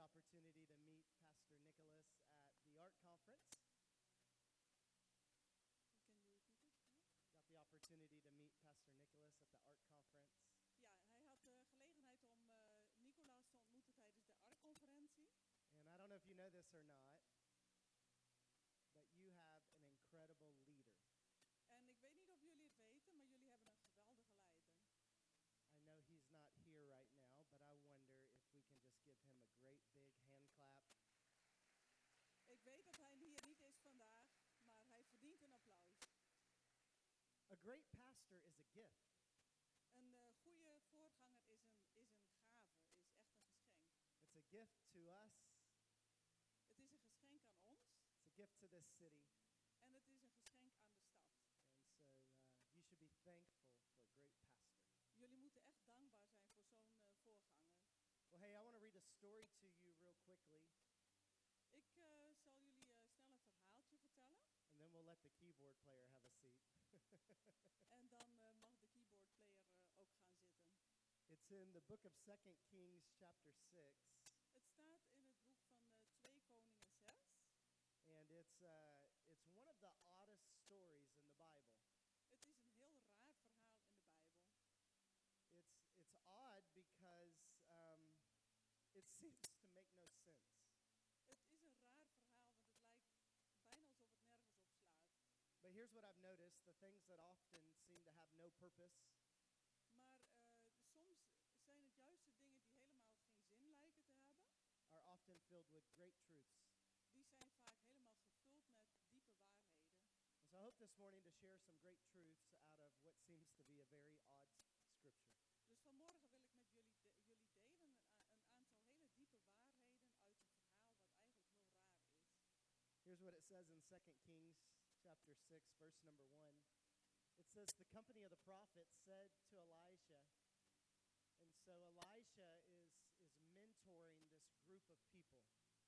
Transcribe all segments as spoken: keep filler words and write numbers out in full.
opportunity to meet Pastor Nicholas at the Art Conference. Can you repeat it? Yeah. Got the opportunity to meet Pastor Nicholas at the Art Conference. Ja, hij had de gelegenheid om uh, Nicolaas te ontmoeten tijdens de A R C-conferentie. And I don't know if you know this or not, but you have an incredible leader. En ik weet niet of jullie het weten, maar jullie hebben een geweldige leider. I know he's not here right now, but I wonder if we can just give him a great big hand clap. Ik weet dat hij hier niet is vandaag, maar hij verdient een applaus. A great pastor is a gift. Een uh, goede voorganger is een, is een gave, is echt een geschenk. It's a gift to us. Het is een geschenk aan ons. It's a gift to this city. En het is een geschenk aan de stad. And so uh, you should be thankful for a great pastor. Jullie moeten echt dankbaar zijn voor zo'n uh, voorganger. Well, hey, I want to read a story to you real quickly. Ik uh, zal jullie uh, snel een verhaaltje vertellen. And then we'll let the keyboard player have a seat. En dan uh, mag de keyboard player uh, ook gaan zitten. It's in the book of Second Kings chapter six. Het staat in het boek van uh, twee Koningen zes. And it's uh, it's one of the oddest stories in the Bible. Het is een heel raar verhaal in de Bijbel. It's it's odd because um, it seems to make no sense. Het is een raar verhaal, want het lijkt bijna alsof het nergens op slaat. But here's what I've noticed: the things that often seem to have no purpose. Maar uh, soms zijn het juist de dingen die helemaal geen zin lijken te hebben. Are often filled with great truths. Die zijn vaak helemaal gevuld met diepe waarheden. And so I hope this morning to share some great truths out of what seems to be a very odd scripture. Dus vanmorgen wil ik met jullie, de, jullie delen een, een aantal hele diepe waarheden uit een verhaal wat eigenlijk heel raar is. Here's what it says in Second Kings chapter six, verse number one. It says, the company of the prophets said to Elisha, and so Elisha is, is mentoring this group of people.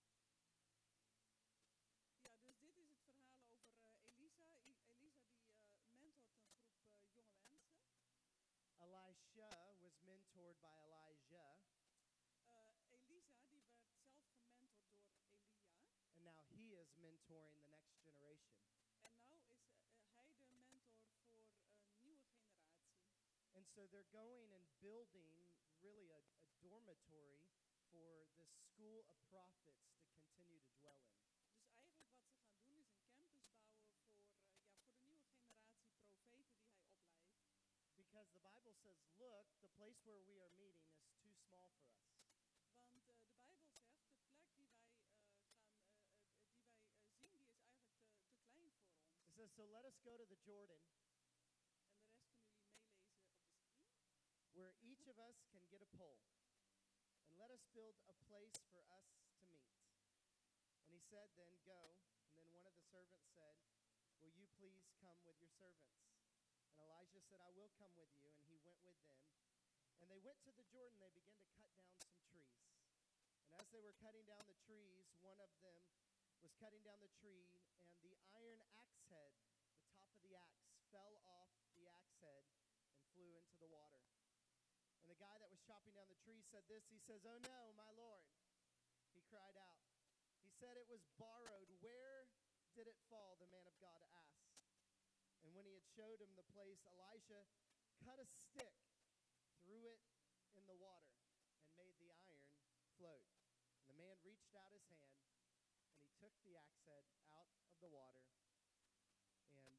Ja, dus dit is het verhaal over uh, Elisa. I- Elisa die uh, mentort een groep uh, jonge mensen. Elisha was mentored by Elijah, Uh, Elisa die werd zelf gementord door Elia. and now he is mentoring the next generation. En nou is uh, hij de mentor voor een nieuwe generatie. And so they're going and building really a, a dormitory for this school of prophets to continue to dwell in. Dus eigenlijk wat ze gaan doen is een campus bouwen voor, uh, ja, voor de nieuwe generatie profeten die hij opleidt. Because the Bible says, look, the place where we are meeting is too small for us. Want uh, de Bijbel zegt, de plek die wij, uh, gaan, uh, uh, die wij uh, zien, die is eigenlijk te, te klein voor ons. It says, so let us go to the Jordan, En de rest kunnen jullie meelezen op de screen. where each of us can get a pole, and let us build a place for us to meet. And he said, then go. And then one of the servants said, will you please come with your servants? And Elijah said, I will come with you. And he went with them. And they went to the Jordan. They began to cut down some trees. And as they were cutting down the trees, one of them was cutting down the tree, and the iron axe head, the top of the axe, fell off the axe head and flew into the water. And the guy that was chopping down the tree said this. He says, oh no, my Lord. He cried out. He said it was borrowed. Where did it fall? The man of God asked. And when he had showed him the place, Elisha cut a stick, threw it in the water, and made the iron float. And the man reached out his hand, and he took the axe head out of the water. And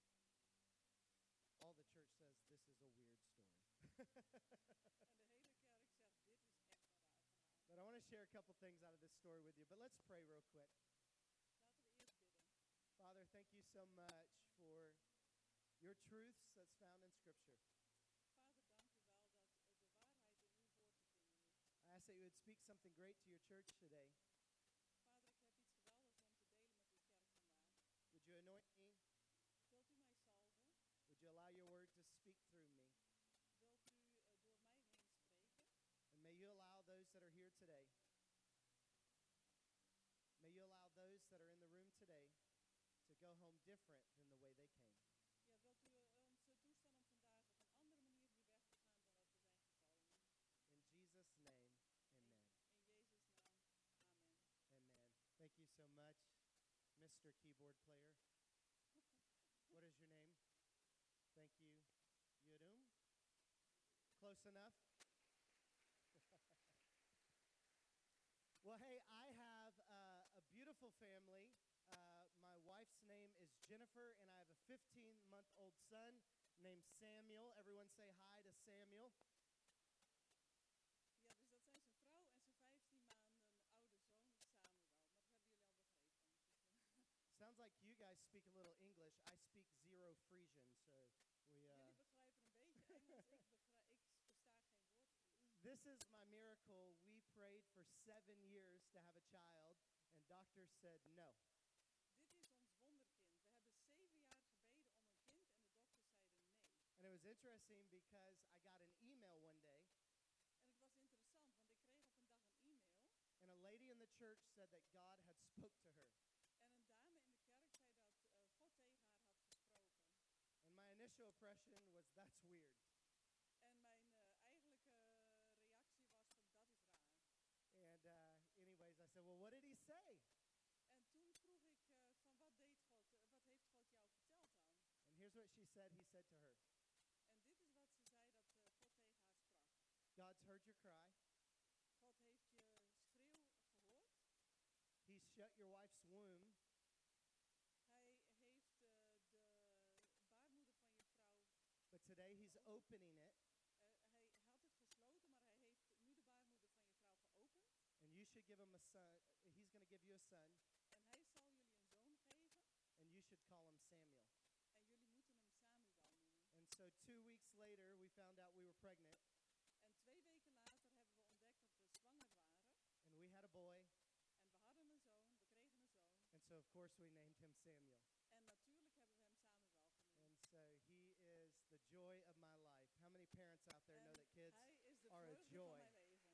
all the church says, this is a weird story. En de hele kerk zegt, dit is echt een raar verhaal. But I want to share a couple things out of this story with you. But let's pray real quick. Laten we eerst bidden. Father, thank you so much for your truths that's found in Scripture. Vader, dank u wel dat uh, de waarheid in uw woord te vinden is. I ask that you would speak something great to your church today. Vader, ik heb iets geweldigs om te delen met uw kerk vandaag. Would you anoint me? Wilt u mij salven? Would you allow your word to speak through me? Wilt u uh, door mij heen spreken? And may you allow those that are here today, may you allow those that are in the room today to go home different than the way they came. Ja, wilt u uh, ons uh, toestaan om vandaag op een andere manier hier weg te gaan dan dat we zijn gekomen? In Jesus' name, amen. In, in Jezus' naam, Mister Keyboard Player. What is your name? Thank you. Yudum? Close enough? Well, hey, I have uh, a beautiful family. Uh, my wife's name is Jennifer, and I have a fifteen-month-old son named Samuel. Everyone say hi to Samuel. Ja, dus dat zijn zijn vrouw en zijn vijftien maanden oude zoon Samuel. Maar dat hebben jullie al begrepen. Dus, uh, Sounds like you guys speak a little English. I speak zero Frisian, so we. Uh, jullie begrijpen een beetje Engels. Ik, begrijp, ik versta geen woord Fries. This is my miracle. We prayed for seven years to have a child, and doctors said no. Dit is ons wonderkind. We hebben zeven jaar gebeden om een kind en de dokters zeiden nee. And it was interesting because I got an email one day, En het was interessant, want ik kreeg op een dag een e-mail. and a lady in the church said that God had spoke to her. En een dame in de kerk zei dat uh, God tegen haar had gesproken. And my initial impression was, that's weird. En mijn uh, eigenlijke reactie was van dat is raar. And uh, anyways, I said, well, what did he say? En toen vroeg ik uh, van wat deed God, uh, wat heeft God jou verteld dan? And here's what she said. He said to her, En dit is wat ze zei dat uh, God tegen haar sprak. God's heard your cry. God heeft je schreeuw gehoord. He's shut your wife's womb. Hij heeft uh, de baarmoeder van je vrouw, But today he's opening it, uh, hij had het gesloten, maar hij heeft nu de baarmoeder van je vrouw geopend. and you should give him a son. He's going to give you a son, En hij zal jullie een zoon geven. and you should call him Samuel. En jullie moeten hem Samuel noemen. And so two weeks later, we found out we were pregnant, En twee weken later hebben we ontdekt dat we zwanger waren. and we had a boy. En we hadden een zoon, we kregen een zoon. And so, of course, we named him Samuel. En natuurlijk hebben we hem Samuel genoemd. And so he is the joy of my life. How many parents out there know En that kids hij is de are a vreugde joy? van mijn leven.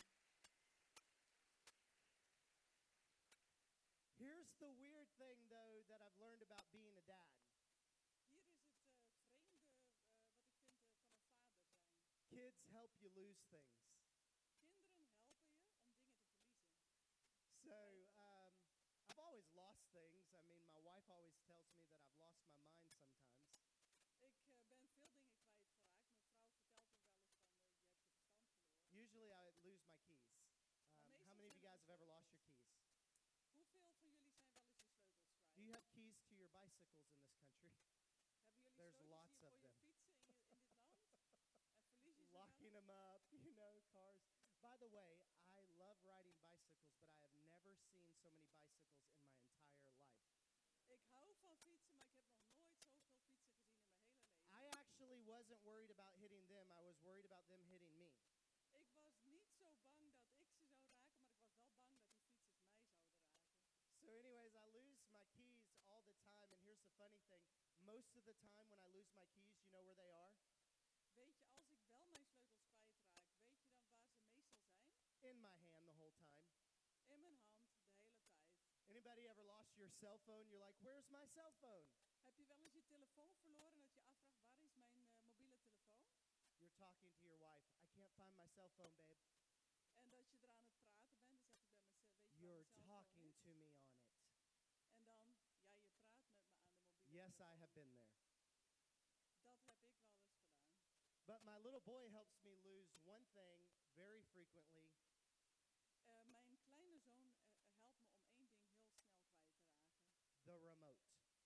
Here's the weird thing, though, that I've learned about being a dad. Hier is het uh, vreemde uh, wat ik vind uh, van een vader zijn. Kids help you lose things. Kinderen helpen je om dingen te verliezen. So um, I've always lost things. I mean, my wife always tells me that I've lost my mind sometimes. Ik uh, ben veel dingen kwijtgeraakt. Mijn vrouw vertelt me wel eens van uh, je hebt je verstand verloren. Usually I would lose my keys. Um, how many of you guys have ever lost your keys? Hoeveel van jullie zijn wel eens je sleutels kwijt? Do you have keys to your bicycles in this country? Hebben jullie There's sleutels lots hier of voor je them. fietsen in, je, in dit land? En verlies je ze Locking wel eens? them up, you know, cars. By the way, I love riding bicycles, but I have never seen so many bicycles in my entire life. Ik hou van fietsen, maar ik heb nog nooit zoveel fietsen gezien in mijn hele leven. I actually wasn't worried about hitting them. I was worried about them hitting me. Ik was niet zo bang dat ik ze zou raken, maar ik was wel bang dat die fietsers mij zouden raken. So anyways, I lose my keys all the time, and here's the funny thing. Most of the time when I lose my keys, you know where they are? Weet je, als ik wel mijn sleutels kwijtraak, weet je dan waar ze meestal zijn? In my hand the whole time. In mijn hand, de hele tijd. Anybody ever lost your cell phone? You're like, where's my cell phone? Heb je wel eens je telefoon verloren en dat je afvraagt, waar is mijn uh, mobiele telefoon? You're talking to your wife. I can't find my cell phone, babe. En dat je er aan het praten bent, dan zeg ik bij mezelf, weet je You're waar mijn cellfoon talking is? to me on it. En dan, ja, je praat met me aan de mobiele Yes, I telefoon. have been there. Dat heb ik wel eens gedaan. But my little boy helps me lose one thing very frequently. Uh, mijn kleine zoon uh, helpt me om één ding heel snel kwijt te raken. The remote.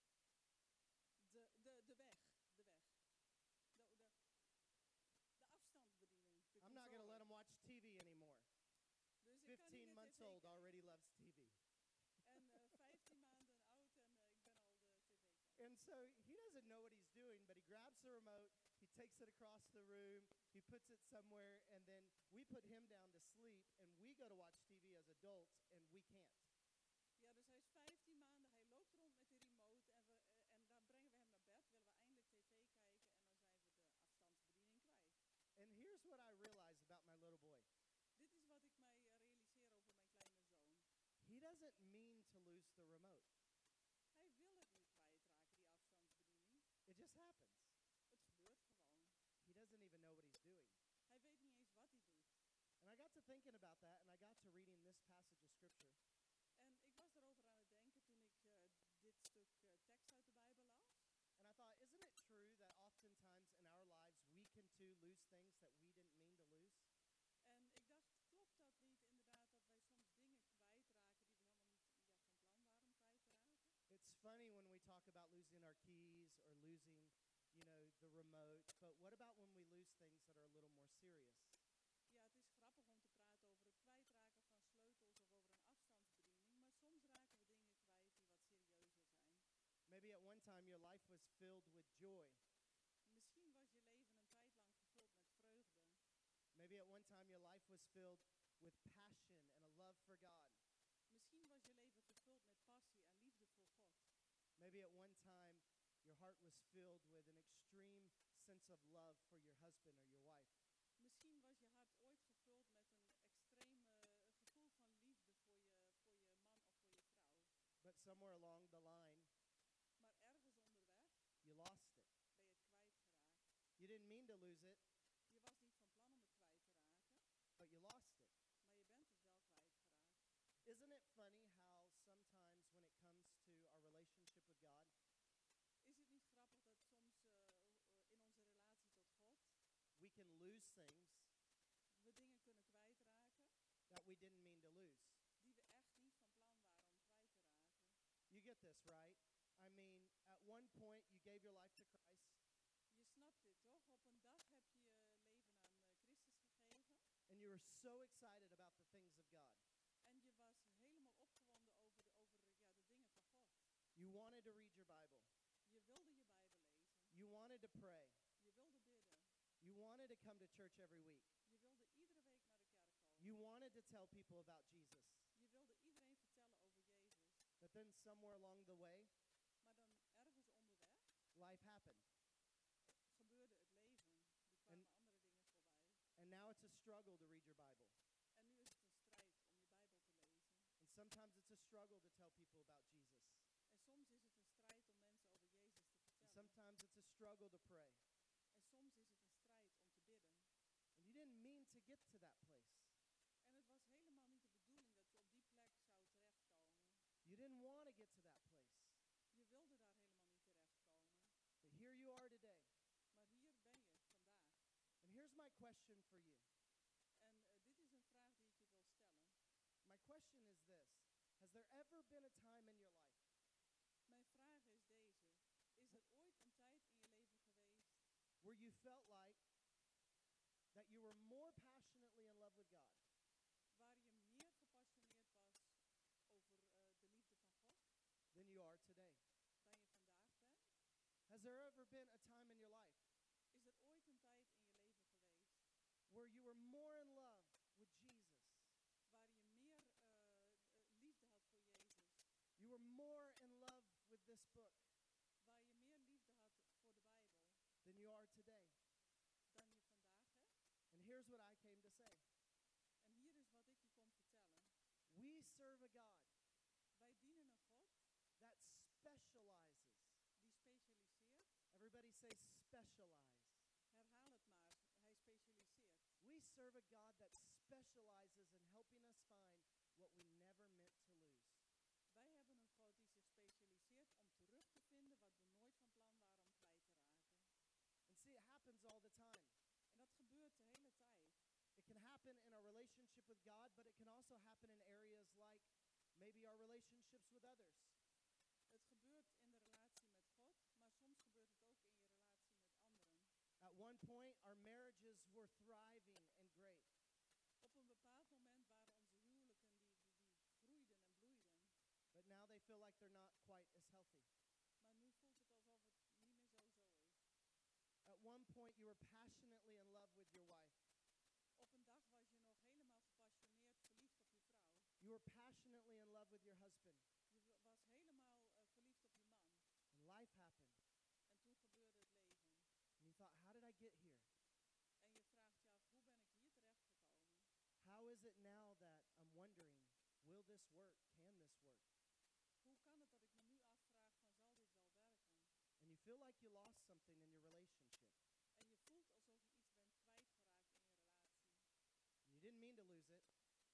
De, de, de weg, de weg. De, de, de afstandsbediening. De I'm not going to let controle. him watch T V anymore. Dus ik kan niet fifteen meer months tv old kijken. already loves T V. En uh, vijftien maanden oud en uh, ik ben al de tv kijken. And so he doesn't know what he's doing, but he grabs the remote, he takes it across the room, he puts it somewhere, and then we put him down to sleep, and we go to watch T V as adults, and we can't. Ja, dus hij is vijftien maanden, hij loopt rond met de remote en, we, uh, en dan brengen we hem naar bed, willen we eindelijk tv kijken en dan zijn we de afstandsbediening kwijt. And here's what I realize about my little boy. Dit is wat ik mij uh, realiseer over mijn kleine zoon. He doesn't mean to lose the remote. Hij wil het niet kwijtraken, die afstandsbediening. It just happens. Het gebeurt gewoon. He doesn't even know what he's doing. Hij weet niet eens wat hij doet. And I got to thinking about that, and I got to reading this passage of Scripture. En ik was erover aan het denken toen ik uh, dit lose things that we didn't mean to lose? En ik dacht, klopt dat niet inderdaad dat wij soms dingen kwijtraken die we helemaal niet ja, van plan waren om kwijt te raken? It's funny when we talk about losing our keys or losing, you know, the remote, but what about when we lose things that are a little more serious? Ja, het is grappig om te praten over het kwijtraken van sleutels of over een afstandsbediening, maar soms raken we dingen kwijt die wat serieuzer zijn. Maybe at one time your life was filled with joy. Misschien was je leven een tijd lang gevuld met vreugde. Maybe at one time your life was filled with passion and a love for God. Misschien was je leven gevuld met passie en liefde voor God. Maybe at one time your heart was filled with an extreme sense of love for your husband or your wife. Misschien was je hart ooit gevuld met een extreem uh, gevoel van liefde voor je, voor je man of voor je vrouw. But somewhere along the line, Maar ergens onderweg you lost it. ben je het kwijtgeraakt. You didn't mean to lose it, Je was niet van plan om het kwijt te raken, but you lost it. maar je bent het wel kwijtgeraakt. Isn't it funny how sometimes when it comes to our relationship with God, Is het niet grappig dat soms uh, in onze relatie tot God we can lose things we dingen kunnen kwijtraken that we didn't mean to lose? die we echt niet van plan waren om kwijt te raken? You get this, right? I mean, at one point you gave your life to Christ Je snapt dit toch? Op een dag heb je je leven aan uh, Christus gegeven and you were so excited about the things of God. en je was helemaal opgewonden over de, over, ja, de dingen van God. You wanted to read your Bible. Je wilde je Bijbel lezen. You wanted to pray. Je wilde bidden. You wanted to come to church every week. Je wilde iedere week naar de kerk komen. You wanted to tell people about Jesus. Je wilde iedereen vertellen over Jezus. But then somewhere along the way, Maar dan ergens onderweg life happened. gebeurde het leven. Er kwamen andere dingen voorbij. And now it's a struggle to read your Bible. En nu is het een strijd om je Bijbel te lezen. And sometimes it's a struggle to tell people about Jesus. En soms is het een strijd om mensen over Jezus te And vertellen. sometimes it's a struggle to pray. En soms is het een strijd om te bidden. And you didn't mean to get to that place. En het was helemaal niet de bedoeling dat je op die plek zou terechtkomen. You didn't want to get to that place. Je wilde daar helemaal niet terechtkomen. But here you are today. Maar hier ben je vandaag. And here's my question for you. En uh, dit is een vraag die ik je wil stellen. My question is this. Has there ever been a time in your life Mijn vraag is deze. Is er ooit een tijd in je leven geweest where you felt like that you were more passionately in love with God waar je meer gepassioneerd was over uh, de liefde van God than you are today? dan je vandaag bent? Has there ever been a time in your life Is er ooit een tijd in je leven geweest where you were more in love with Jesus? waar je meer uh, uh, liefde had voor Jezus? You were more in love with this book Waar je meer liefde had voor de Bijbel than you are today? dan je vandaag hebt? And here's what I came to say. En hier is wat ik je kom vertellen. We serve a God Wij dienen een God that specializes. die specialiseert. Everybody say specialize. Herhaal het maar. Hij specialiseert. We serve a God that specializes in helping us find what we never meant to lose. Wij hebben een God die zich specialiseert om terug te vinden wat we nooit van plan waren om kwijt te raken. And see, it happens all the time. En dat gebeurt de hele tijd. It can happen in our relationship with God, but it can also happen in areas like maybe our relationships with others. Het gebeurt in de relatie met God, maar soms gebeurt het ook in je relatie met anderen. At one point, our marriages were thriving and great. Op een bepaald moment waren onze huwelijken die, die, die groeiden en bloeiden. But now they feel like they're not quite as healthy. Maar nu voelt het alsof het niet meer zo zo is. At one point, you were passionately in love with your wife. Op een dag was je nog helemaal gepassioneerd verliefd op je vrouw. You were passionately in love with your husband. Je w- was helemaal uh, verliefd op je man. And life happened. En toen gebeurde het leven. And you thought, how did I get here? En je vraagt je af, hoe ben ik hier terechtgekomen? How is it now that I'm wondering, will this work? Can this work? Hoe kan het dat ik me nu afvraag van, zal dit wel werken? And you feel like you lost something in your relationship. En je voelt alsof je iets bent kwijtgeraakt in je relatie. And you didn't mean to lose it.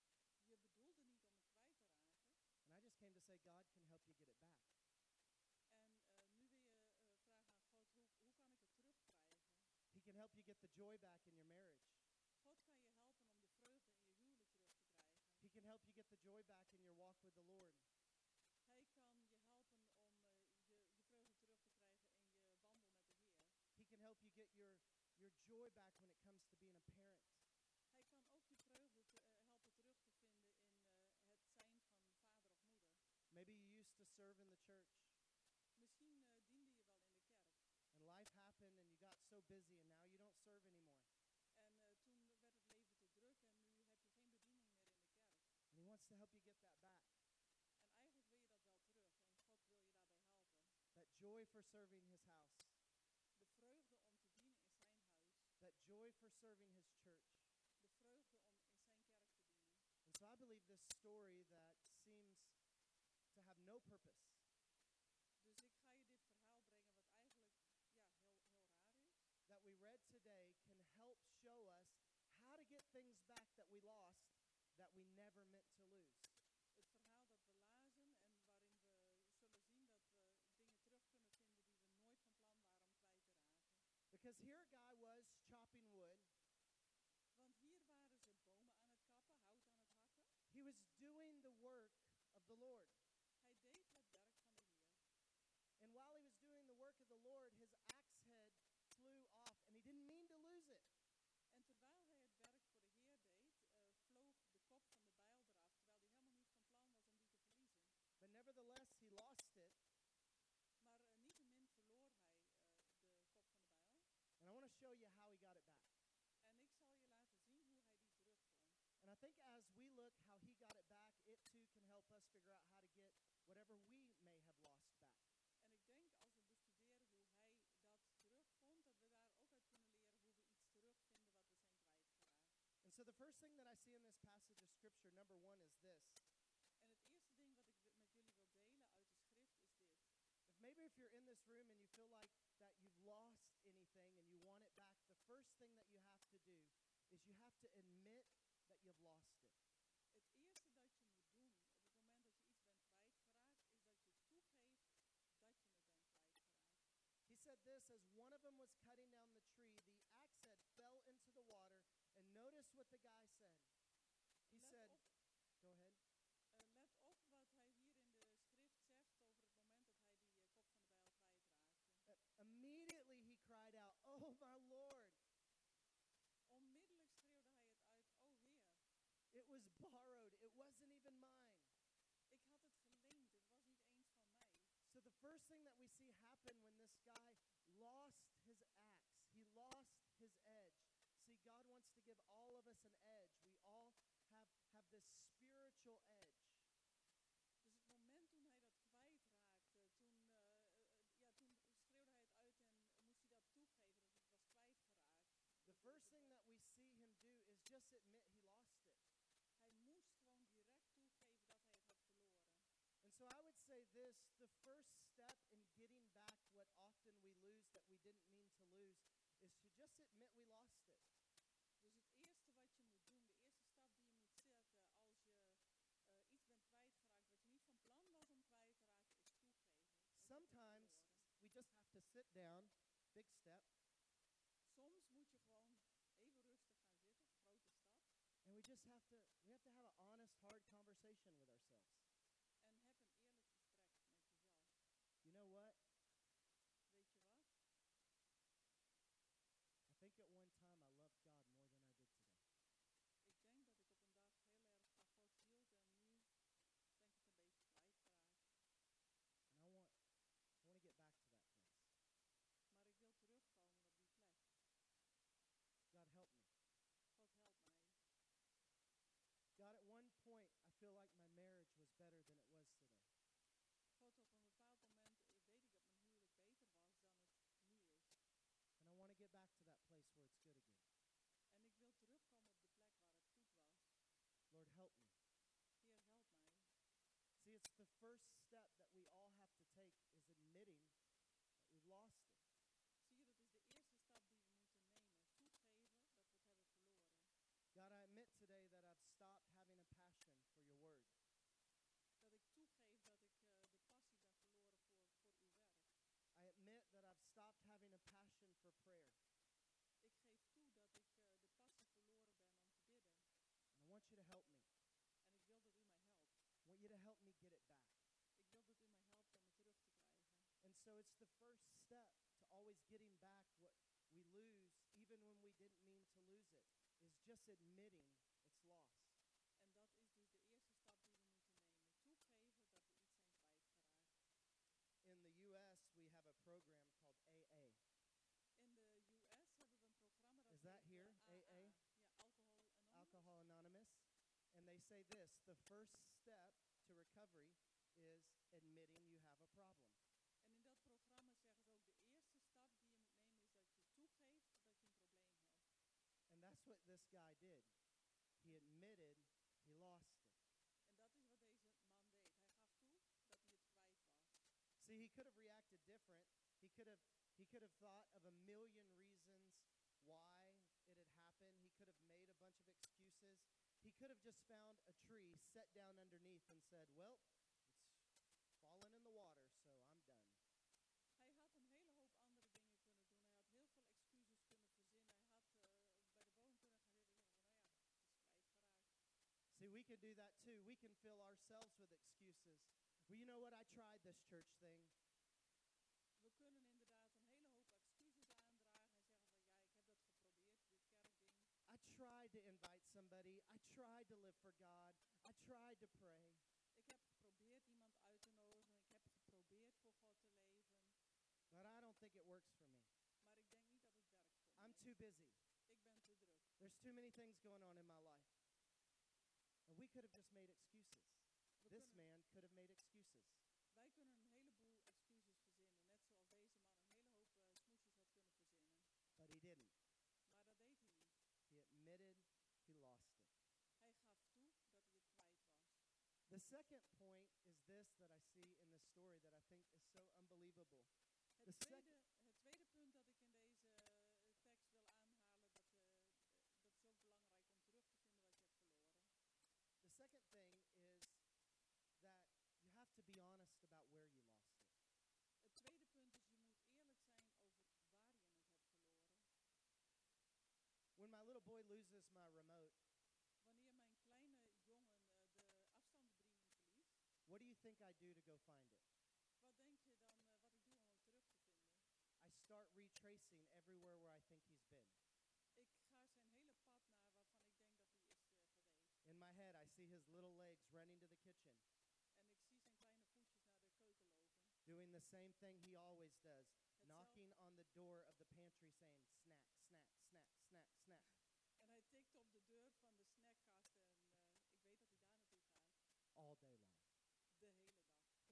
Je bedoelde niet om het kwijt te raken. And I just came to say, God can help you get it back. En uh, nu wil je uh, vragen aan God, hoe, hoe kan ik het terugkrijgen? He can help you get the the joy back in your marriage. God kan je helpen om de vreugde in je huwelijk terug te krijgen. He can help you get the joy back in your walk with the Lord. Hij kan je helpen om uh, je, je vreugde terug te krijgen in je wandel met de Heer. He can help you get your, your joy back when it comes to being a parent. Hij kan ook je vreugde te, uh, helpen terug te vinden in uh, het zijn van vader of moeder. Maybe you used to serve in the church. Misschien uh, diende je wel in de kerk. And life happened and you got so busy and now you don't serve anymore. En uh, toen werd het leven te druk en nu heb je geen bediening meer in de kerk. And he wants to help you get that back. En eigenlijk wil je dat wel terug en God wil je daarbij helpen. That joy for serving his house. De vreugde om te dienen in zijn huis. That joy for serving his church. De vreugde om in zijn kerk te dienen. And so I believe this story that seems to have no purpose. Dus ik ga je dit verhaal brengen wat eigenlijk ja, heel, heel raar is. That we read today can help show us how to get things back that we lost that we never meant to lose. Het verhaal dat we lazen en waarin we zullen zien dat we dingen terug kunnen vinden die we nooit van plan waren om kwijt te raken. Because here a guy was chopping wood. Want hier waren ze bomen aan het kappen, hout aan het hakken. He was doing the work of the Lord. Hij deed het werk van de Heer. And while he was doing the work of the Lord, his axe head flew off and he didn't mean to lose it. En terwijl hij het werk voor de Heer deed, uh, vloog de kop van de bijl eraf, terwijl hij helemaal niet van plan was om die te verliezen. But nevertheless, he lost it. Maar uh, niettemin verloor hij uh, de kop van de bijl. And I want to show you how he got it back. En ik zal je laten zien hoe hij die terugvond. And I think as we look how he got it back, it too can help us figure out how to get whatever we may have lost back. En ik denk als we bestuderen hoe hij dat terugvond, dat we daar ook uit kunnen leren hoe we iets terugvinden wat we zijn kwijtgeraakt. And so the first thing that I see in this passage of scripture, number one, is this. En het eerste ding wat ik met jullie wil delen uit de schrift is dit. If maybe if you're in this room and you feel like that you've lost anything and you want it back, the first thing that you have to do is you have to admit that you've lost it. Het eerste dat je moet doen op het moment dat je iets bent kwijtgeraakt, is dat je toegeeft dat je het bent kwijtgeraakt. He said this, as one of them was cutting down the tree, the axe head fell into the water, and notice what the guy said. He Let said, op, go ahead. uh, let op wat hij hier in de schrift zegt over het moment dat hij die uh, kop van de bijl kwijtraakte. Uh, immediately he cried out, oh my Lord, Onmiddellijk schreeuwde hij het uit, o Heer, it was borrowed, it wasn't even mine. ik had het geleend, het was niet eens van mij. So the first thing that we see happen when this guy lost his axe, he lost his edge. See, God wants to give all of us an edge. We all have, have this spiritual edge. Dus het moment toen hij dat kwijtraakte, toen, uh, uh, ja, toen schreeuwde hij het uit en moest hij dat toegeven dat het was kwijtgeraakt. The first thing that we see him do is just admit he lost it. Hij moest gewoon direct toegeven dat hij het had verloren. And so I would say this, the first step in getting back what often we lose that we didn't mean to lose is to just admit we lost it. Dus het eerste wat je moet doen, de eerste stap die je moet zetten als je uh, iets bent kwijtgeraakt wat je niet van plan was om kwijt te raken, is toegeven. Sometimes we just have to sit down, big step, Soms moet je gewoon even rustig gaan zitten, grote stap, and we just have to we have to have an honest, hard conversation with ourselves. en heb een eerlijk gesprek met jezelf. You know what? Weet je wat? I think at one time I loved God more than I did today. Ik denk dat ik op een dag heel erg van God hield en nu ben ik het een beetje kwijtgeraakt. And I want I want to get back to that place. Maar ik wil terugkomen op die plek. God help me. God help mij. God, at one point I feel like my marriage was better than it was today. God, op een bepaald moment eh, weet ik dat mijn huwelijk beter was dan het nu is. And I want to get back to that place where it's good again. En ik wil terugkomen op de plek waar het goed was. Lord, help me. Heer, help mij. See, it's the first step that we all have to take is admitting that we've lost it. Zie je, dat is de eerste stap die we moeten nemen. Toegeven dat we het hebben verloren. God, I admit today that I've stopped having a passion for your word. Dat ik toegeef dat ik uh, de passie ben verloren voor, voor uw werk. I admit that I've stopped having a passion for prayer. Ik geef toe that's the first step to always getting back what we lose, even when we didn't mean to lose it, is just admitting it's lost. En dat is dus de eerste stap die we moeten nemen. Toegeven dat we iets zijn kwijtgeraakt. In the U S, we have a program called A A. In de U S hebben we een programma dat Is that heet, here, uh, A A? A A? Ja, Alcohol Anonymous. Alcohol Anonymous. And they say this, the first step to recovery is admitting you have a problem. En in dat programma zeggen ze ook, de eerste stap die je moet nemen is dat je toegeeft dat je een probleem hebt. And that's what this guy did. He admitted he lost it. En dat is wat deze man deed. Hij gaf toe dat hij het kwijt was. See, he could have reacted different. He could have he could have thought of a million reasons why it had happened. He could have made a bunch of excuses. He could have just found a tree, sat down underneath and said, "Well, it's fallen in the water, so I'm done." Hij had een hele hoop andere dingen kunnen doen. Hij had heel veel excuses kunnen verzinnen. Hij had uh, bij de boom kunnen gaan zitten en zeggen van, nou ja, het is kwijtgeraakt. See, we can do that too. We can fill ourselves with excuses. Well, you know what? I tried this church thing. We kunnen inderdaad een hele hoop excuses aandragen en zeggen van, ja, ik heb dat geprobeerd, dit kerkding. I tried to invite somebody. I tried to live for God. I tried to pray. Ik heb geprobeerd iemand uit te nodigen. Ik heb geprobeerd voor God te leven. But I don't think it works for me. Maar ik denk niet dat het werkt voor I'm mij. too busy. Ik ben te druk. There's too many things going on in my life. And we could have just made excuses. We This kunnen, man could have made excuses. wij kunnen een heleboel excuses verzinnen. Net zoals deze man een hele hoop uh, smoesjes had kunnen verzinnen. But he didn't. Maar dat deed hij niet. He admitted he lost it. Hij gaf toe dat hij het kwijt was. The second point is this that I see in this story that I think is so unbelievable. The Het sec- tweede, het tweede punt dat ik in deze uh, tekst wil aanhalen, dat, uh, dat is ook belangrijk om terug te vinden wat je hebt verloren. The second thing is that you have to be honest about where you lost it. Het tweede punt is, je moet eerlijk zijn over waar je het hebt verloren. When my little boy loses my remote, Wanneer mijn kleine jongen uh, de afstandsbediening verliest, what do you think I do to go find it? wat denk je dan uh, wat ik doe om hem terug te vinden? I start retracing everywhere where I think he's been. Ik ga zijn hele pad naar waarvan ik denk dat hij is uh, geweest. In my head, I see his little legs running to the kitchen, En ik zie zijn kleine voetjes naar de keuken lopen. doing the same thing he always does, Hetzelfde. knocking on the door of the pantry saying, snack, snack, snack, snack, snack. En hij tikt op de deur van de snackkast en uh, ik weet dat hij daar naartoe gaat. All day long. De hele dag.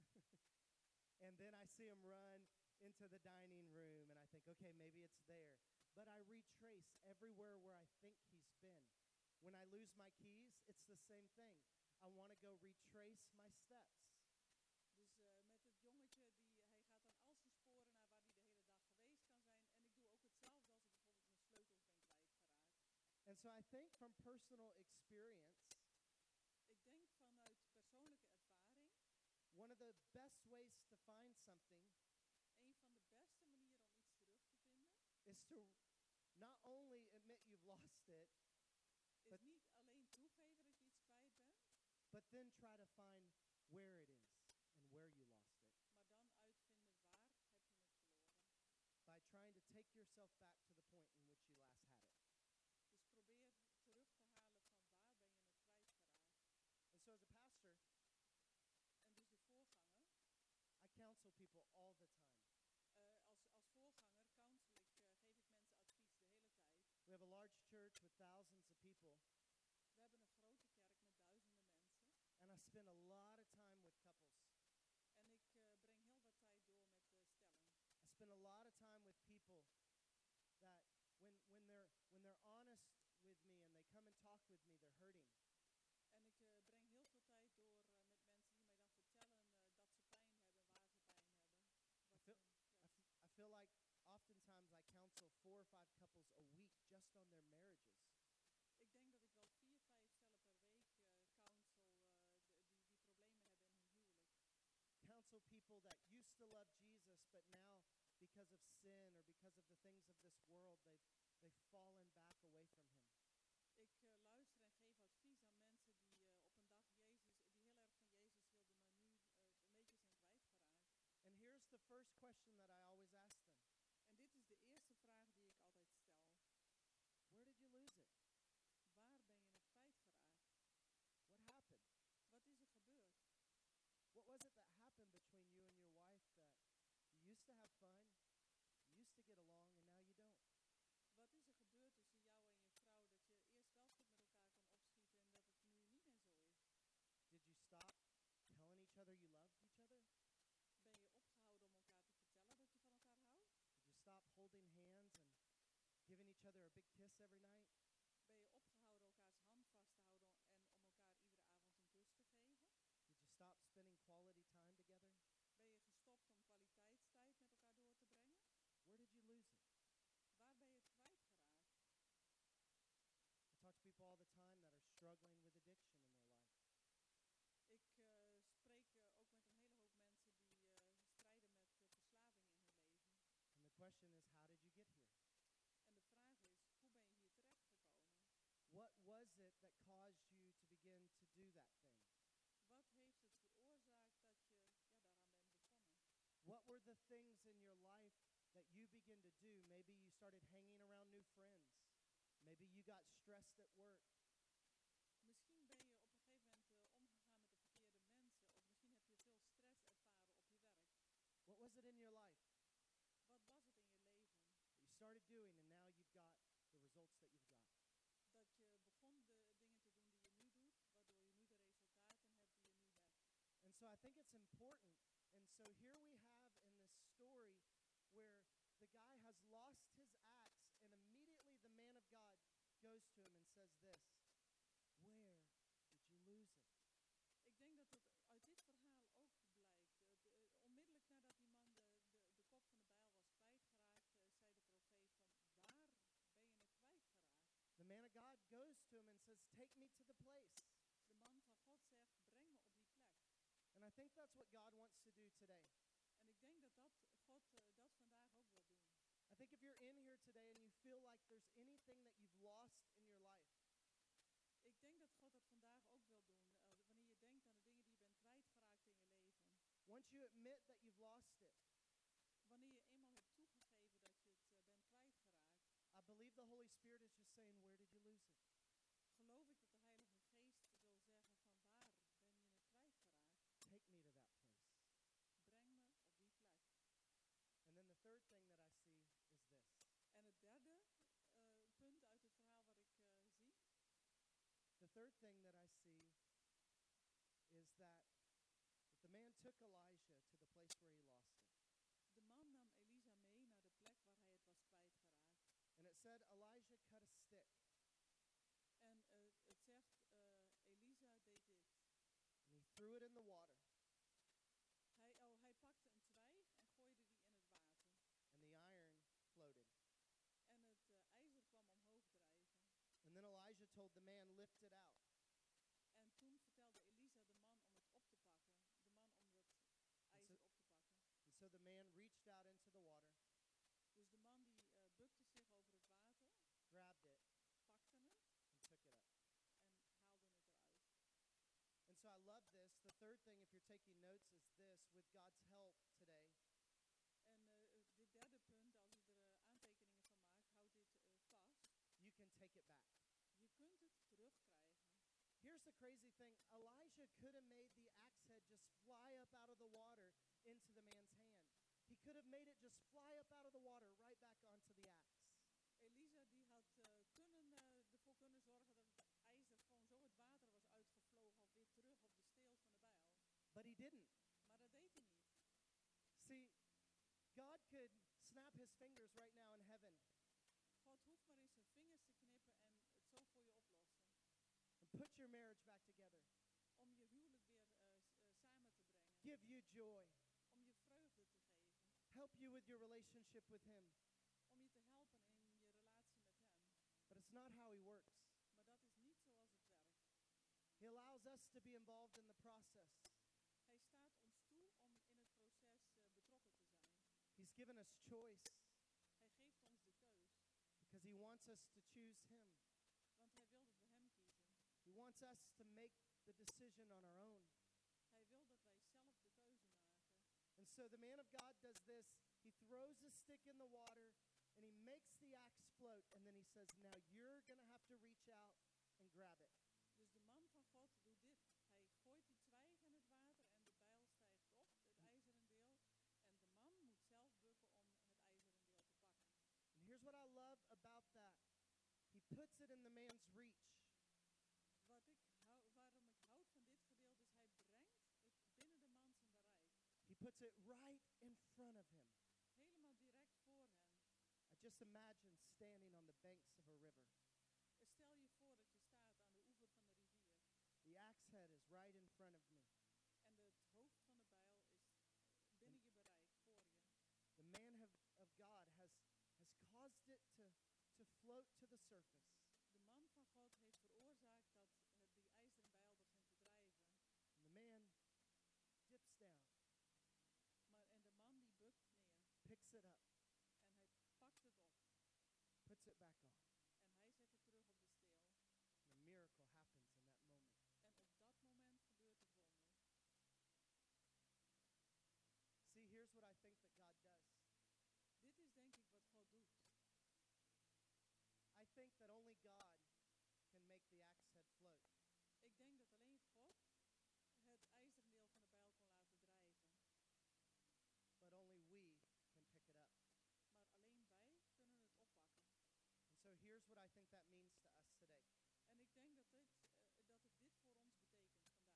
And then I see him run into the dining room, and I think, okay, maybe it's there. But I retrace everywhere where I think he's been. When I lose my keys, it's the same thing. I want to go retrace my steps. Dus uh, met het jongetje, die, hij gaat dan al zijn sporen naar waar hij de hele dag geweest kan zijn. En ik doe ook hetzelfde als ik bijvoorbeeld mijn sleutels ben kwijtgeraakt. And so I think from personal experience, Ik denk vanuit persoonlijke ervaring, one of the best ways to find something een van de beste manieren om iets terug te vinden, is to not only admit you've lost it, is But- niet alleen toegeven dat je iets kwijt bent, but then try to find where it is and where you lost it. maar dan uitvinden waar heb je het verloren. By trying to take yourself back to the point in which you last had it. Dus probeer terug te halen van waar ben je het kwijtgeraakt. And so as a pastor, En dus de voorganger, I counsel people all the time. uh, als, als voorganger counsel ik, uh, geef ik mensen advies de hele tijd. We have a large church with thousands of people, We hebben een grote kerk met duizenden mensen. and I spend a lot of time with couples. En ik uh, breng heel wat tijd door met de stelling. I spend a lot of time with people that when when they're when they're honest with me and they come and talk with me, they're hurting. En ik uh, breng heel veel tijd door uh, met mensen die mij dan vertellen uh, dat ze pijn hebben, waar ze pijn hebben. I Wat feel, ze- I, f- I feel like oftentimes I counsel four or five couples a week just on their marriages. ik denk dat ik wel vier, vijf stellen per week uh, counsel uh, de- die, die problemen hebben in hun huwelijk. Counsel people that used to love Jesus, but now because of sin or because of the things of this world, they've they've fallen back away from him. Ik uh, luister en geef advies aan mensen die uh, op een dag Jezus, die heel erg van Jezus hielden, maar nu uh, een beetje zijn kwijtgeraakt. And here's the first question that I always ask them. En dit is de eerste vraag die ik altijd stel. Where did you lose it? Waar ben je het kwijtgeraakt? What happened? Wat is er gebeurd? What was it that happened between you and your wife that you used to have fun, you used to get along, and now you don't? Wat is er gebeurd tussen jou en je vrouw dat je eerst wel goed met elkaar kon opschieten en dat het nu niet meer zo is? Did you stop telling each other you loved each other? Ben je opgehouden om elkaar te vertellen dat je van elkaar houdt? Did you stop holding hands and giving each other a big kiss every night? Ben je opgehouden elkaars hand vast te houden en om elkaar iedere avond een kus te geven? Did you stop spending quality time together? Ben je gestopt om kwaliteitstijd met elkaar door te brengen? Where did you lose it? Waar ben je het kwijtgeraakt? I talk to people all the time that are struggling with addiction in their life. Ik uh, spreek uh, ook met een hele hoop mensen die uh, strijden met uh, verslaving in hun leven. And the question is, how did you get here? En de vraag is, hoe ben je hier terechtgekomen? What was it that caused you to begin to do that thing? Wat heeft het veroorzaakt dat je ja, daaraan bent begonnen? What were the things in your life that you begin to do? Maybe you started hanging around new friends. Maybe you got stressed at work. Misschien ben je op een gegeven moment uh, omgegaan met de verkeerde mensen. Of misschien heb je veel stress ervaren op je werk. What was it in your life Wat was het in je leven that you started doing and now you've got the results that you've got? dat je begon de dingen te doen die je nu doet, waardoor je nu de resultaten hebt die je nu hebt? And so I think it's important. And so here we have in this story where the guy has lost his axe, and immediately the man of God goes to him and says this, where did you lose it? Ik denk dat het uit dit verhaal ook blijkt. Uh, de, uh, onmiddellijk nadat die man de, de, de kop van de bijl was kwijtgeraakt, uh, zei de profeet van, waar ben je het kwijtgeraakt? The man of God goes to him and says, take me to the place. De man van God zegt, breng me op die plek. And I think that's what God wants to do today. En ik denk dat, dat God uh, dat vandaag ook wil doen. I think if you're in here today and you feel like there's anything that you've lost in your life, Ik denk dat God dat vandaag ook wil doen. Uh, wanneer je denkt aan de dingen die je bent kwijtgeraakt in je leven. once you admit that you've lost it, Wanneer je eenmaal hebt toegegeven dat je het uh, bent kwijtgeraakt. I believe the Holy Spirit is just saying, where did you lose it? Geloof ik dat de Heilige Geest wil zeggen van, waar ben je het kwijtgeraakt? Take me to that place. Breng me op die plek. And then the third thing that I see is this. En het derde uh, punt uit het verhaal wat ik uh, zie. The third thing that I see is that, that the man took Elijah to the place where he lost it. De man nam Elisa mee naar de plek waar hij het was kwijtgeraakt. And it said Elijah cut a stick. En uh, het zegt, uh, Elisa deed dit. And he threw it in the water. Hij, oh, hij pakte een twijg en gooide die in het water. And the iron floated. En het uh, ijzer kwam omhoog drijven. And then Elijah told the man, lift it out. En toen vertelde Elisa de man om het op te pakken. De man om het ijzer op te pakken. And so the man reached out into the water, Dus de man die uh, bukte zich over het water, grabbed it, pakte het and took it up. en haalde het eruit. And so I love this. The third thing, if you're taking notes, is this. With God's help today, En uh, dit derde punt, als je er uh, aantekeningen van maakt, houd dit uh, vast. you can take it back. Je kunt het terugkrijgen. Here's the crazy thing. Elijah could have made the axe head just fly up out of the water into the man's hand. He could have made it just fly up out of the water right back onto the axe. Elisa die had uh, kunnen, uh, ervoor kunnen zorgen dat het ijzer gewoon zo het water was uitgevlogen of weer terug op de steelt van de bijl. But he didn't. Maar dat deed hij niet. See, God could snap his fingers right now in heaven God hoeft maar eens zijn vingers te knippen en het zo voor je oplossen. and put your marriage back together. Om je huwelijk weer uh, s- uh, samen te brengen. Give you joy. Om je vreugde te geven. Help you with your relationship with him. Om je te helpen in je relatie met hem. But it's not how he works. Maar dat is niet zoals het werkt. He allows us to be involved in the process. Hij staat ons toe om in het proces uh, betrokken te zijn. He's given us choice Hij geeft ons de keus. because he wants us to choose him. Want hij wil dat we hem kiezen. He wants us to make the decision on our own. Hij wil dat wij zelf de keuze maken. And so the man of God does this. He throws a stick in the water and he makes the axe float. And then he says, now you're going to have to reach out and grab it. Dus de man van God doet dit. Hij gooit die twijg in het water en de bijl stijgt op, het ijzeren deel. En de man moet zelf bukken om het ijzeren deel te pakken. And here's what I love about that. He puts it in the man's reach. Wat ik hou, waarom ik houd van dit gedeelte is, hij brengt het binnen de man zijn bereik. He puts it right in front of him. Helemaal direct voor hen. I just imagine standing on the banks of a river. Stel je voor dat je staat aan de oever van de rivier. The axe head is right in front of me. En de, het hoofd van de bijl is binnen je bereik, voor je. The man of, of God has, has caused it to, to float to the surface. De man van God heeft veroorzaakt dat uh, die ijzeren bijl begint te drijven. And the man dips down, Maar, en de man die bukt neer. picks it up, En hij pakt het op. puts it back on. En hij zet het terug op de steel. And a miracle happens in that moment. En op dat moment gebeurt het wonder. See, here's what I think that God does. Dit is denk ik wat God doet. I think that only God can make the axe head float. Ik denk dat alleen God het ijzeren deel van de bijl kon laten drijven. But only we can pick it up. Maar alleen wij kunnen het oppakken. And so here's what I think that means to us today. En ik denk dat, dit, uh, dat het dit voor ons betekent vandaag.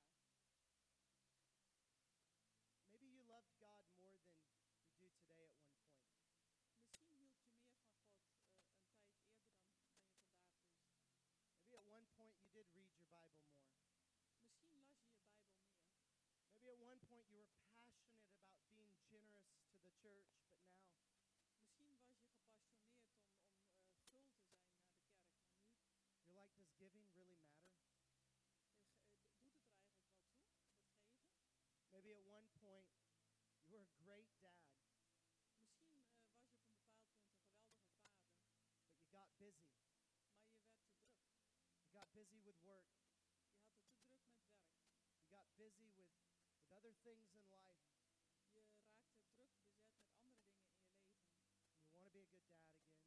Maybe you loved God more than you do today at one point. Misschien hield je meer van God uh, een tijd eerder dan, dan je vandaag doet. Maybe at one point you did read your Bible more. Misschien las je je Bijbel meer. Maybe at one point you were passionate about being generous to the church, but now Misschien was je gepassioneerd om, om uh, gul te zijn naar de kerk, maar nu you're like, does giving really matter? uh, ge- uh, d- doet het er eigenlijk wel toe, het geven. Maybe at one point you were a great dad, Misschien uh, was je op een bepaald punt een geweldige vader, but you got busy. maar je werd te druk. You got busy with work. Je had het te druk met werk. You got busy with, with other things in life. Je raakte druk bezet met andere dingen in je leven. And you want to be a good dad again.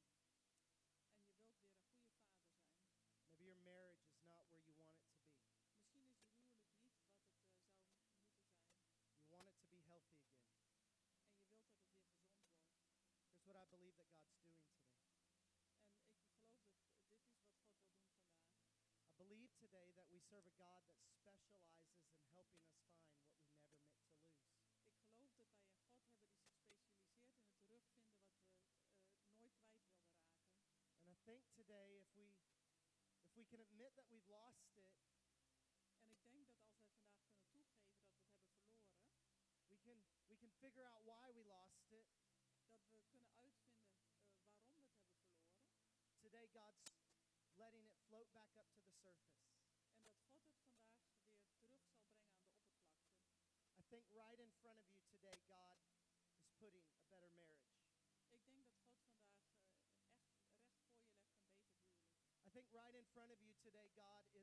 En je wilt weer een goede vader zijn. Maybe your marriage is not where you want it to be. Misschien is je huwelijk niet wat het uh, zou m- moeten zijn. You want it to be healthy again. En je wilt dat het weer gezond wordt. Here's what I believe that God's doing today. En ik geloof dat uh, dit is wat God wil doen vandaag. I believe today that we serve a God that specializes in helping us find what we never meant to lose. Ik geloof dat wij een God hebben die zich specialiseert in het terugvinden wat we uh, nooit kwijt wilden raken. And I think today if we if we can admit that we've lost it, En ik denk dat als wij vandaag kunnen toegeven dat we het hebben verloren, we can we can figure out why we lost it. dat we kunnen uitvinden uh, waarom we het hebben verloren. Today God's letting it float back up to the surface. En dat God het vandaag weer terug zal brengen aan de oppervlakte. I think right in front of you today God is putting a better marriage. Ik denk dat God vandaag uh, echt recht voor je legt een beter huwelijk. I think right in front of you today God is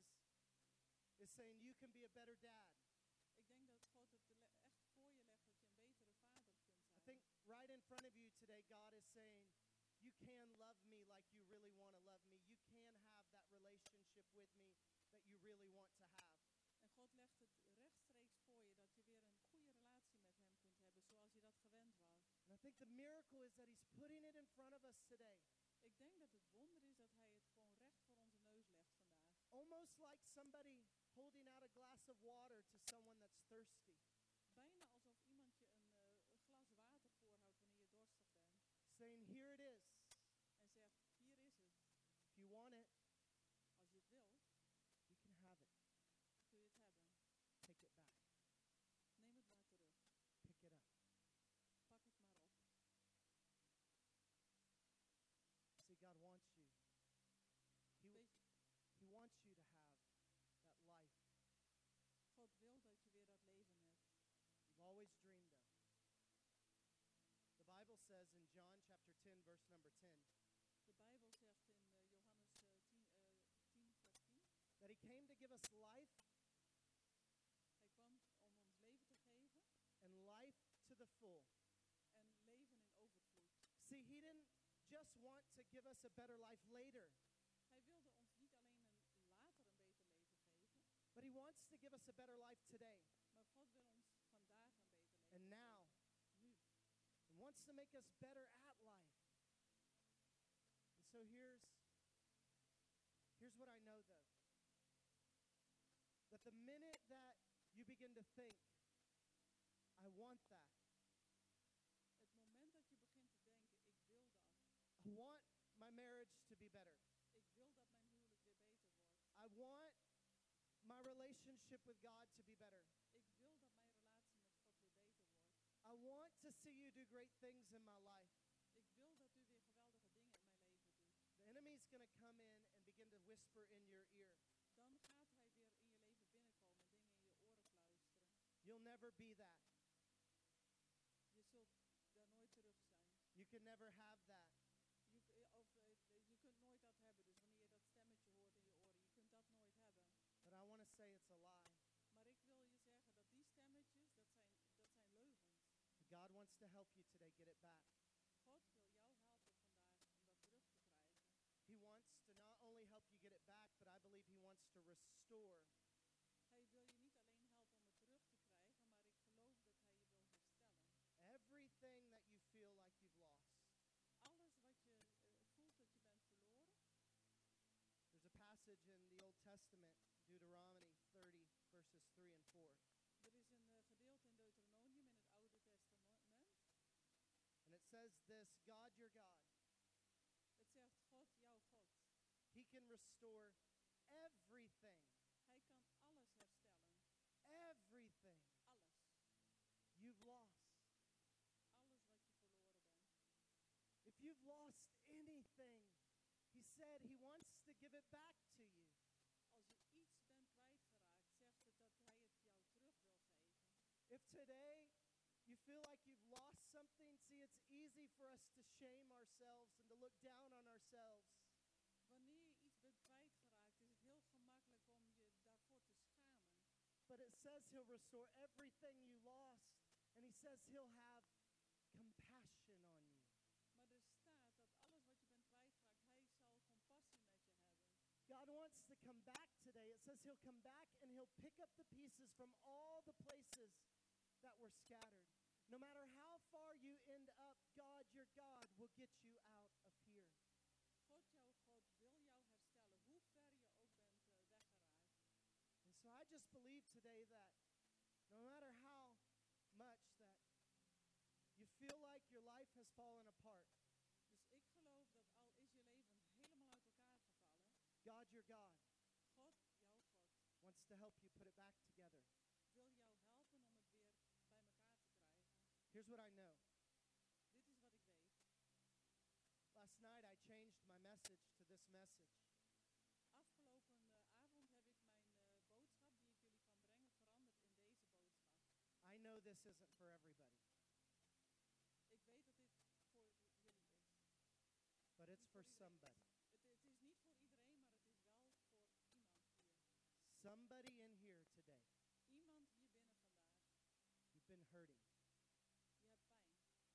is saying you can be a better dad. Ik denk dat God het le- echt voor je legt dat je een betere vader kunt I zijn. think right in front of you today God is saying you can love me like you really want to love me. You can have that relationship with me that you really want to have. En God legt het rechtstreeks voor je dat je weer een goede relatie met hem kunt hebben zoals je dat gewend was. And I think the miracle is that he's putting it in front of us today. Ik denk dat het wonder is dat hij het gewoon recht voor onze neus legt vandaag. Almost like somebody holding out a glass of water to someone that's thirsty. Bijna alsof iemand je een, uh, een glas water voorhoudt wanneer je dorstig bent. Saying, here it is. En zegt, hier is het. If you want it, Als je het wil, you can have it. kun je het hebben. Take it back. Neem het maar terug. Pick it up. Pak het maar op. See, God wants you. He, Weet je, he wants you to have that life God wil dat je weer dat leven hebt. you've always dreamed of. The Bible says in John chapter ten, verse number ten, De Bijbel zegt in uh, Johannes uh, tien, uh, tien, vers tien. that he came to give us life Hij kwam om ons leven te geven and life to the full. want to give us a better life later, Hij wilde ons niet alleen een, later een beter leven geven, but He wants to give us a better life today maar God wil ons vandaag een beter leven and now, geven. Nu. and wants to make us better at life. And so here's, here's what I know though. That the minute that you begin to think, I want that, Het moment dat je begint te denken, ik wil dat. I want my marriage to be better. Ik wil dat mijn huwelijk weer beter wordt. I want my relationship with God to be better. Ik wil dat mijn relatie met God weer beter wordt. I want to see you do great things in my life. Ik wil dat u weer geweldige dingen in mijn leven doet. The enemy's going to come in and begin to whisper in your ear. Dan gaat hij weer in je leven binnenkomen en dingen in je oren fluisteren. You'll never be that. Je zult daar nooit terug zijn. You can never have that. Je, of, uh, je kunt nooit dat hebben. Dus wanneer je dat stemmetje hoort in je oren, je kunt dat nooit hebben. But I want to say it's a lie. Maar ik wil je zeggen dat die stemmetjes, dat zijn, dat zijn leugens. God wants to help you today get it back. God wil jou helpen vandaag om dat terug te krijgen. He wants to not only help you get it back, but I believe He wants to restore. Hij wil je niet alleen helpen om het terug te krijgen, maar ik geloof dat hij je wil herstellen. Everything that you feel like you've lost. Alles wat je uh, voelt dat je bent verloren. There's a passage in the Old Testament, Deuteronomy thirty, verses three and four. Er is een uh, gedeelte in Deuteronomium in het Oude Testament. And it says this, God your God, Het zegt God, jouw God. He can restore everything. Hij kan alles herstellen. Everything Alles. you've lost. Alles wat je verloren bent. If you've lost anything, He said He wants to give it back to you. Als je iets bent kwijtgeraakt, zegt het dat hij het jou terug wil geven. If today you feel like you've lost something, see, it's easy for us to shame ourselves and to look down on ourselves. Wanneer je iets bent kwijtgeraakt, is het heel gemakkelijk om je daarvoor te schamen. But it says He'll restore everything you lost. And He says He'll have compassion on you. Maar er staat dat alles wat je bent kwijtgeraakt, hij zal compassie met je hebben. God wants to come back today. It says He'll come back and He'll pick up the pieces from all the places that were scattered. No matter how far you end up, God, your God, will get you out of here. God, jouw God, wil jou herstellen, hoe ver je ook bent uh, weggeraakt. And so I just believe today that no matter how much that you feel like your life has fallen apart, Dus ik geloof dat al is je leven helemaal uit elkaar gevallen, God, your God, God, jouw God, wants to help you put it back together. wil jou helpen om het weer bij elkaar te krijgen. Here's what I know. Dit is wat ik weet. Last night I changed my message to this message. Afgelopen uh, avond heb ik mijn uh, boodschap die ik jullie kan brengen veranderd in deze boodschap. I know this isn't for everybody, Ik weet dat dit voor jullie is. but it's Niet for voor iedereen. somebody. Het, het is niet voor iedereen, maar het is wel voor iemand hier. Somebody in here today. Iemand hier binnen vandaag. You've been hurting. Je hebt pijn.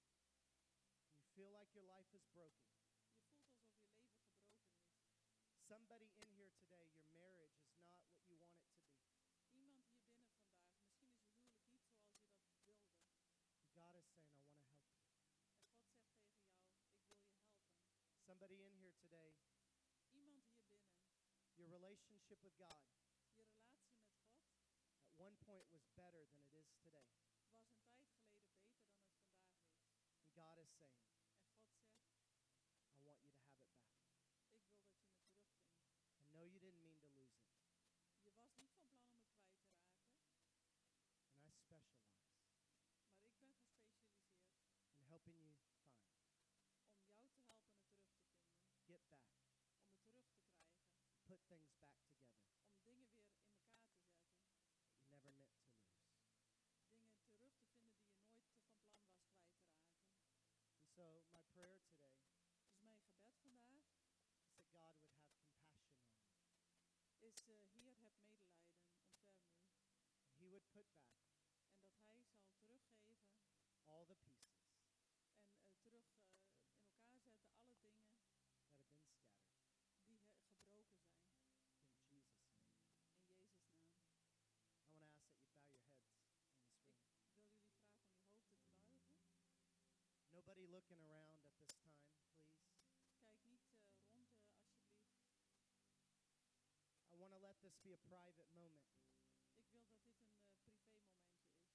You feel like your life is broken. Je voelt alsof je leven gebroken is. Somebody in here today, your marriage is not what you want it to be. Iemand hier binnen vandaag. Misschien is je huwelijk niet zoals je dat wilde. God is saying, I want to help you. En God zegt tegen jou, ik wil je helpen. Somebody in here today, Iemand hier binnen. your relationship with God Je relatie met God at one point was better than it is today. was een tijd geleden beter dan het vandaag is. And God is saying, En God zegt, I want you to have it back. ik wil dat je het terugvindt. I know you didn't mean to lose it. Je was niet van plan om het kwijt te raken. And I specialize Maar ik ben gespecialiseerd in helping you find, om jou te helpen het terug te vinden. get back, Om het terug te krijgen. put things back together Om dingen weer in elkaar te zetten. that you never meant to lose. Dingen terug te vinden die je nooit van plan was kwijt te raken. And so my prayer today Dus mijn gebed vandaag is that God would have compassion on you. is, uh, Heer, heb medelijden, ontferm u. And He would put back En dat hij zal teruggeven all the pieces en uh, terug uh, in elkaar zetten alle dingen looking around at this time, please. Kijk niet uh, rond, uh, alsjeblieft. I want to let this be a private moment. Ik wil dat dit een uh, privé momentje is.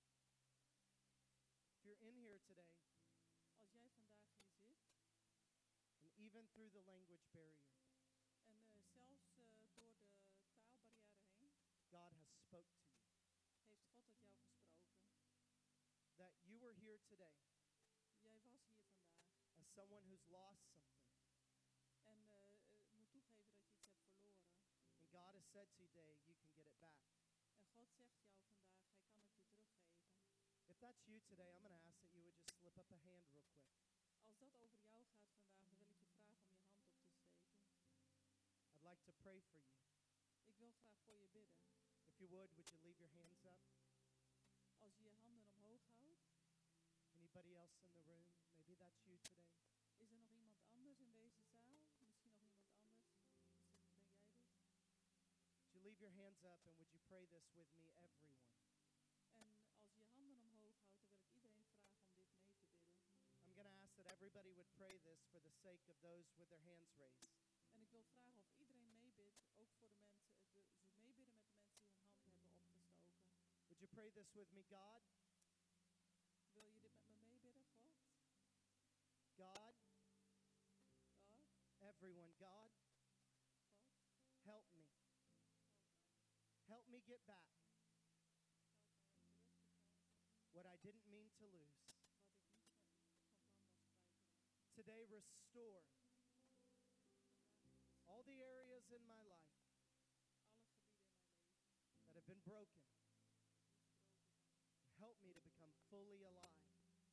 If you're in here today, Als jij vandaag hier zit, and even through the language barrier, en uh, zelfs uh, door de taalbarrière heen, God has spoke to you. heeft God tot jou gesproken. That you were here today Jij was hier vandaag. as someone who's lost something. En uh, uh, moet toegeven dat je iets hebt verloren. And God has said today, you can get it back. En God zegt jou vandaag, hij kan het je teruggeven. If that's you today, I'm going to ask that you would just slip up a hand real quick. Als dat over jou gaat vandaag, dan wil ik je vragen om je hand op te steken. I'd like to pray for you. Ik wil graag voor je bidden. If you would, would you leave your hands up? Als je je handen omhoog houdt, Anybody else in the room? Maybe that's you today. is er nog iemand anders in deze zaal? Misschien nog iemand anders? Is het, ben jij dit? Would you leave your hands up and would you pray this with me, everyone? En als je je handen omhoog houdt, dan wil ik iedereen vragen om dit mee te bidden. I'm going to ask that everybody would pray this for the sake of those with their hands raised. En ik wil vragen of iedereen meebidt, ook voor de mensen, de, ze meebidden met de mensen die hun hand hebben opgestoken. Would you pray this with me, God? Wil je dit met me meebidden, God? God, God, everyone, God, God, help me. help mij. Help me get back Help mij om terug te krijgen what I didn't mean to lose. wat ik niet van, van plan was kwijt te raken. Today, restore Vandaag all the areas in my life alle gebieden in mijn leven that have been broken. die gebroken zijn. Help me to become fully alive.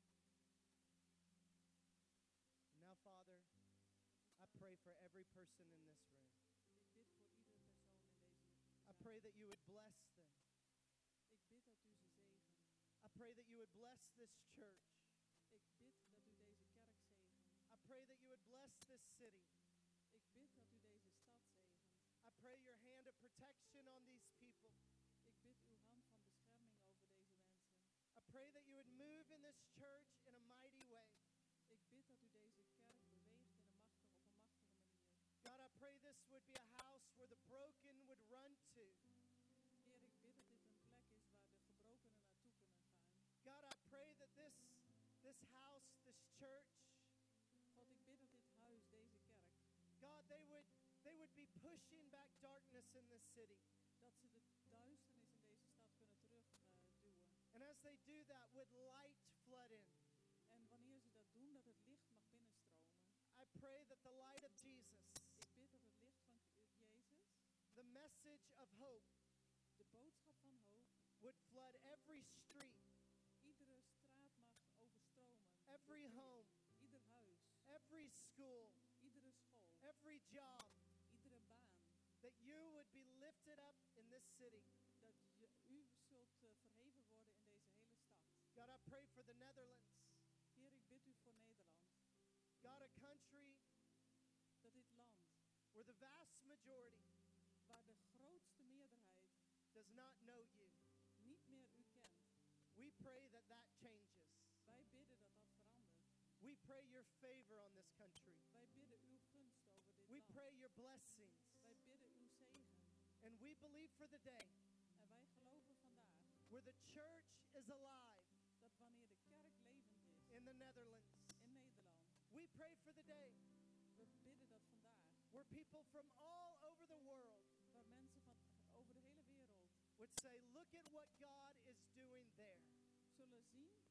Now, Father, I pray for every person in this room. Ik bid voor iedere persoon in deze I zaal. pray that you would bless them. Ik bid dat u ze zegent. I pray that you would bless this church. Ik bid dat u deze kerk zegent. I pray that you would bless this city. Ik bid dat u deze stad zegent. I pray your hand of protection on these people. Ik bid uw hand van bescherming over deze mensen. I pray that you would move in this church in a mighty way. Ik bid dat u deze kerk beweegt in een machtige, op een machtige manier. God, I pray this would be a house where the broken would run to. Heer, ik bid dat dit een plek is waar de gebrokenen naartoe kunnen gaan. God, I pray that this, this house, this church, God, ik bid dat dit huis, deze kerk, God, they would, they would be pushing back darkness in this city. dat ze de duisternis in deze stad kunnen terugduwen. And as they do that, would light flood in. En wanneer ze dat doen, dat het licht mag binnenstromen. I pray that the light of Jesus, Ik bid dat het licht van Jezus, the message of hope, de boodschap van hoop, would flood every street, iedere straat mag overstromen. every home, Ieder huis, every school, iedere school, every job, iedere baan. that you would be lifted up in this city. Dat je, u zult uh, verheven worden in deze hele stad. God, I pray for the Netherlands. Heer, ik bid u voor Nederland. God, a country Dat dit land, where the vast majority waar de grootste meerderheid does not know you. niet meer u kent. We pray that that changes. Wij bidden dat dat verandert. We pray your favor on this country. Wij bidden uw gunst over dit We land. pray your blessings. Wij bidden uw zegen. And we believe for the day En wij geloven vandaag where the church is alive dat wanneer de kerk levend is in the Netherlands. in Nederland, We pray for the day we bidden dat vandaag, where people from all over the world waar mensen van over de hele wereld would say, look at what God is doing there. zullen zien